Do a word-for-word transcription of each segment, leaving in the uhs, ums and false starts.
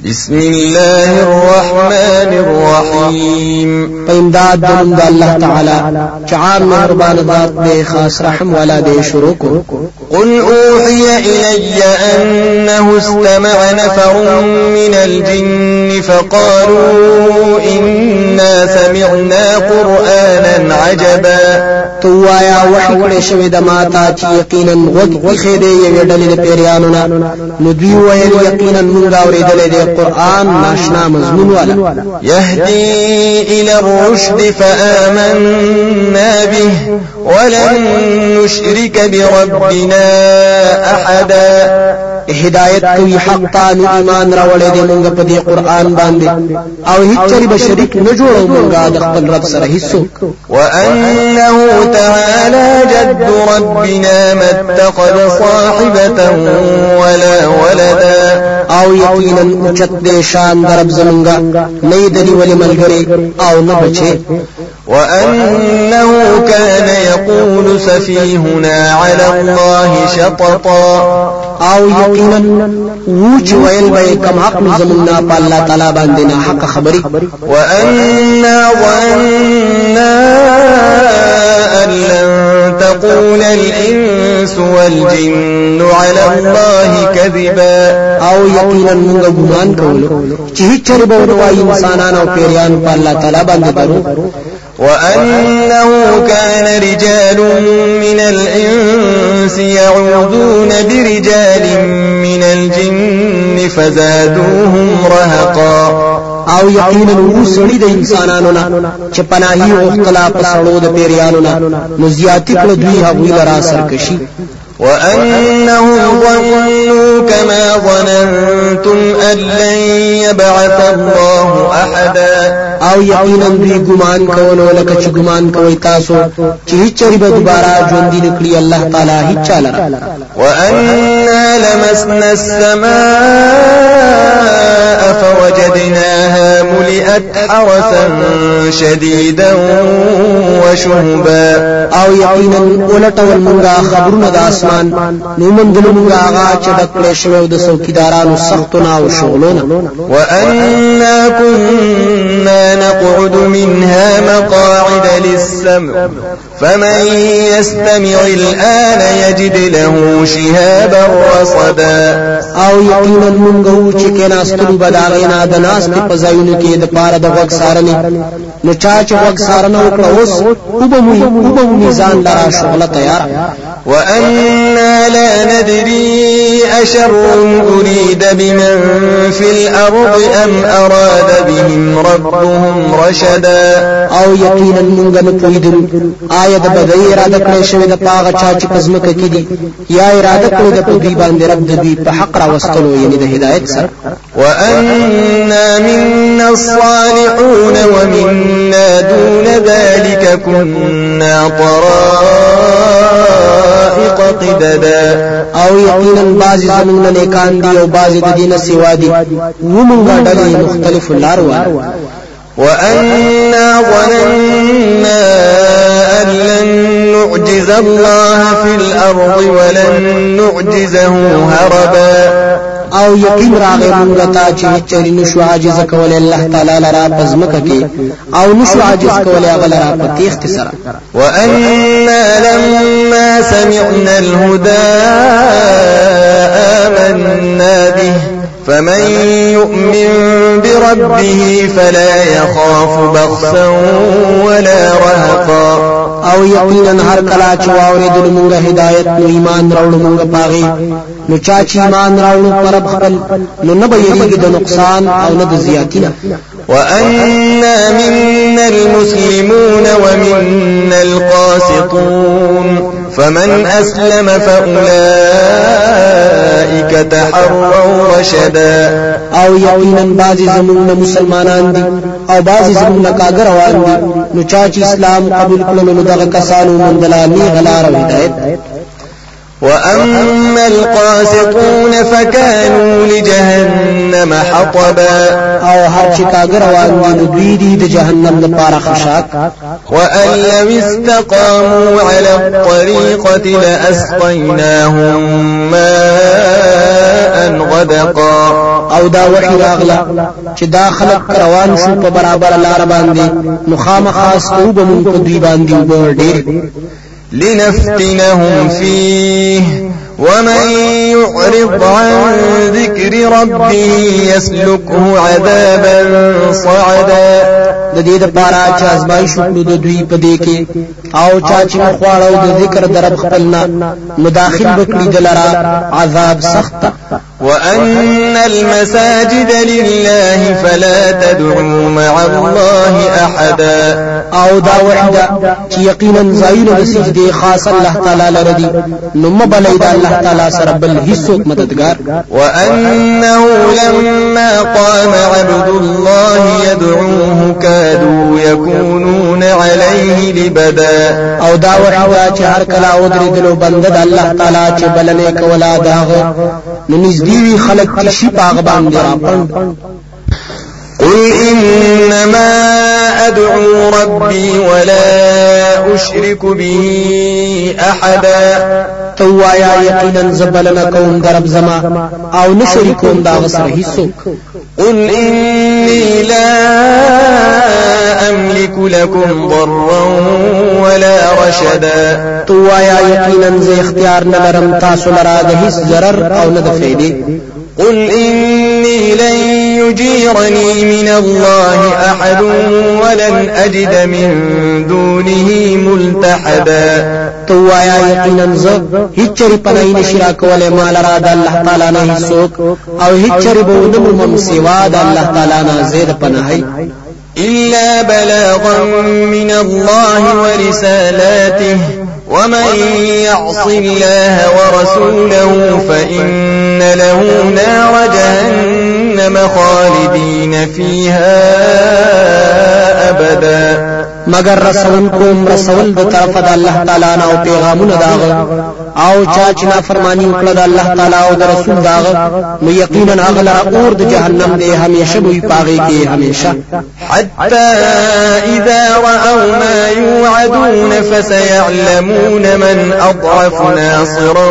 بسم الله الرحمن الرحيم فإمداد دلند الله تعالى چعام مهربان ذات بے خاص رحم والا دے شروع کو قل أوحي إلي أنه استمع نفر من الجن فقالوا إنا سمعنا قرآنا عجبا تو آیا وحی کړي شوی د ماتا چې یقینا غوږ خې دې یو ډلې د پیریانو نو دوی ویل یقینا موږ اورېدلې د قرآن ناشنا مضمون والا يهدي إلى الرشد فآمنا به ولن نشرك بربنا أحدا هدایت کوي حق ته ایمان راولې دې موږ په دې قرآن باندې او هیڅ چری به شریک نه جوړو موږ د خپل رب سره هیڅوک وأنه تعالى جد ربنا ما اتخذ صاحبة ولا ولدا او یقینا اوچت دې شان در رب زمونږه نه دې ولې ملګری او نه بچي وأنه كان يقول سفيهنا على الله شططا او یقینا وچ ویل به کم حق زمنا په الله تعالی باندې نه حق خبري وأنا ظننا أن لن تقول الإنس والجن على الله كذبا او یقینا موږ ګمان کوو چې هیڅ چر به وایي انسانان او پیریان په الله تعالی باندې درو وأنه كان رجال من الإنس يعوذون برجال من الجن فزادوهم رهقا او یقینا وسړي د انسانانو نه چې پناهي او اختلاف سره د پیریانو نه نو زیاتی کړ دوی هغوی لرا سرکشي وأنهم ظنوا كما ظننتم أن لن يبعث الله أحدا او یقینا دوی ګمان کولو لکه چې ګمان کوي تاسو چې هیڅ چری به دوباره ژوند دي نکړي الله تعالی هیڅ چاله وأنا لمسنا السماء فوجدناها ملئت حرسا شديدا وشهبا او یقینا ولټول موږ خبرونه د اسمان نو موږ موږ هغه چې ډکړې شوی د څوکیدارانو سختونه او شغلونه وأنا كنا نقعد منها مقاعد للسمع فمن يستمع الآن يجد له شهابا رصدا او یقینا موږ چې کنا سترو بداغینا د ناس په ځایونو کې د پاره د وګ سارنه نو چا چې وګ سارنه وکړه اوس وبمو وبمو میزان لرا شغله تیار وأنا لا ندري أشر أريد بمن في الأرض أم أراد بهم ربهم رشدا او یقینا موږ نه پوهیدو آیا د بدی اراده کړې شوې د پاغه چا چې پزمکه کې دي یا اراده کړې د پدوی باندې رب د دوی په حق را وستلو یعنی د هدایت سره وأنا منا الصالحون ومنا دون ذلك كنا طرائق قددا او یقینا بعضی زمون نیکان دي او بعضی د دینه سیوا دي ومونږ ډلې مختلف لار وایو وأنا ظننا أن لن نعجز الله في الأرض ولن نعجزه هربا او یقین راغی موږ ته چې چری نشو عاجز کول الله تعالی لرا پزمکه کې او نشو عاجز کول هغه لرا په تیخت سره وأنا لما سمعنا الهدى آمنا به فمن يؤمن بربه فلا يخاف بخسا ولا رهقا او یقینا هر کلا چې واورېدل موږ هدایت نو ایمان راوړو موږ پاغي نو چا چې ایمان راوړو پر خپل نو نه به یریږي د نقصان او نه د زیاتینا وأنا منا المسلمون ومنا القاسطون فمن أسلم فأولئك تحروا رشدا او یقینا بعضی زمون مسلمانان دي او بعضی زمون کاګر روان دي نو چا چې اسلام قبول کړل نو دغه کسانو من دلالي غلار او هدایت وأما القاسطون فكانوا لجهنم حطبا او هر چې کاګر روان دي دوی دي د جهنم لپاره خشاک وأن لو استقاموا على الطريقة لأسقيناهم ماء غدقا او دا وحی راغلا چې دا خلق روان شو په برابر لار باندې مخامخ او به مونږ په دوی باندې وبور ډېر لنفتنهم فيه ومن يعرض عن ذكر ربه يسلكه عذابا صعدا د دې لپاره چې ازمایښت وکړو د دوی په دې کې او چا چې مخواړو د ذکر درب خپلنا مداخل وکړي دلرا عذاب سخت. وأن المساجد لله فلا تدعوا مع الله أحدا او دا وحده چې یقینا زایل د سجدي خاص الله تعالی لردي نو مبلید الله تعالی سره بل هیڅوک مددگار. وأنه لما قام عبد الله يدعوه كادوا يكونون عليه لبدا او دا وحده چې هر کله او درېدلو بنده د الله تعالی چې بلنه کولا داغه نو نږدې خلق چې شي پاغ باندې راپند. قل إنما أدعو ربي ولا أشرك به أحدا توایا یقینا زبلنا کوم درب زما او نشریکوم دا سره هیڅوک. قل إني لا أملك لكم ضرا ولا رشدا توایا یقینا ز اختیار نه لرم تاسو لرا د هیڅ ضرر او نه د فائدې. قل إني لن يجيرني من الله أحد ولن أجد من دونه ملتحدا توایا یقینا ز هیڅ چری پنای نشرا کوله مال را د الله تعالی نه هیڅوک او هیڅ چری بودم مم سوا د الله تعالی نه زید پناهي إلا بلاغا من الله ورسالاته ومن يعص الله ورسوله فإن له نار جهنم خالدين فيها أبدا مگر رسول کوم رسول د طرف د الله تعالی نه او پیغامونه داغه او چا چې نافرمانی وکړه د الله تعالی او د رسول داغه نو یقینا هغه لپاره اور د جهنم دی همیشه وي پاغي کې همیشه. حتى إذا رأوا ما يوعدون فسيعلمون من أضعف ناصرا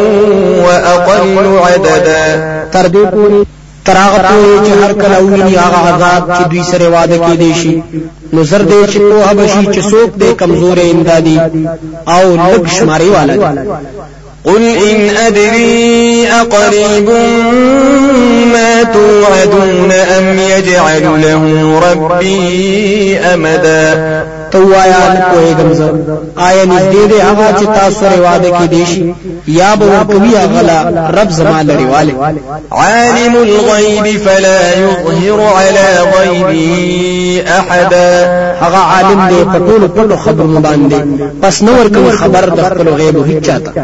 وأقل عددا تر دې پورې تراغ پورې چې هر کله ویني هغه عذاب چې دوی سره وعده کې دي شي نو زر دې چې په هبشي چې څوک دې کمزورې امدادي او لږ شماري والا دي. قل إن أدري أقريب ما توعدون أم يجعل له ربي أمدا توایا نه کوېږم زه آیا نږدې دی هغه چې تاسو سره وعده کې دي شي یا به ورکوي هغه رب زما لري والي. عالم الغيب فلا يظهر على غيبه أحدا هغه عالم دی په ټولو ټولو خبرونو باندې پس نو ورکوي خبر د خپل غیب هیڅ چاته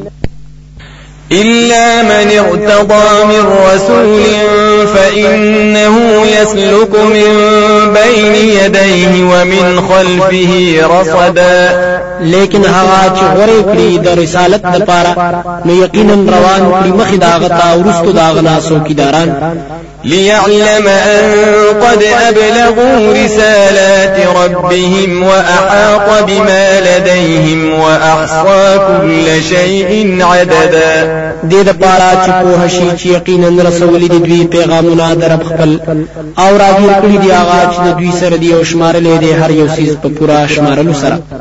إلا من ارتضى من رسول فإنه يسلك من بين يديه ومن خلفه رصدا لیکن هغه چې غوړې کړی د رسالت لپاره نو یقینا روان کړی مخې داغه تا ورستو داغه ناسو کیداران ليعلم أن قد أبلغوا رسالات ربهم وأحاط بما لديهم وأحصى كل شيء عددا دې د پاره چې په هشي چې یقینا رسول دي دوی پیغامونه درب خپل او راګیر کړی دی هغه چې دوی سره دی او شمارلې دي هر یو سیز په پورا شمارلو سره.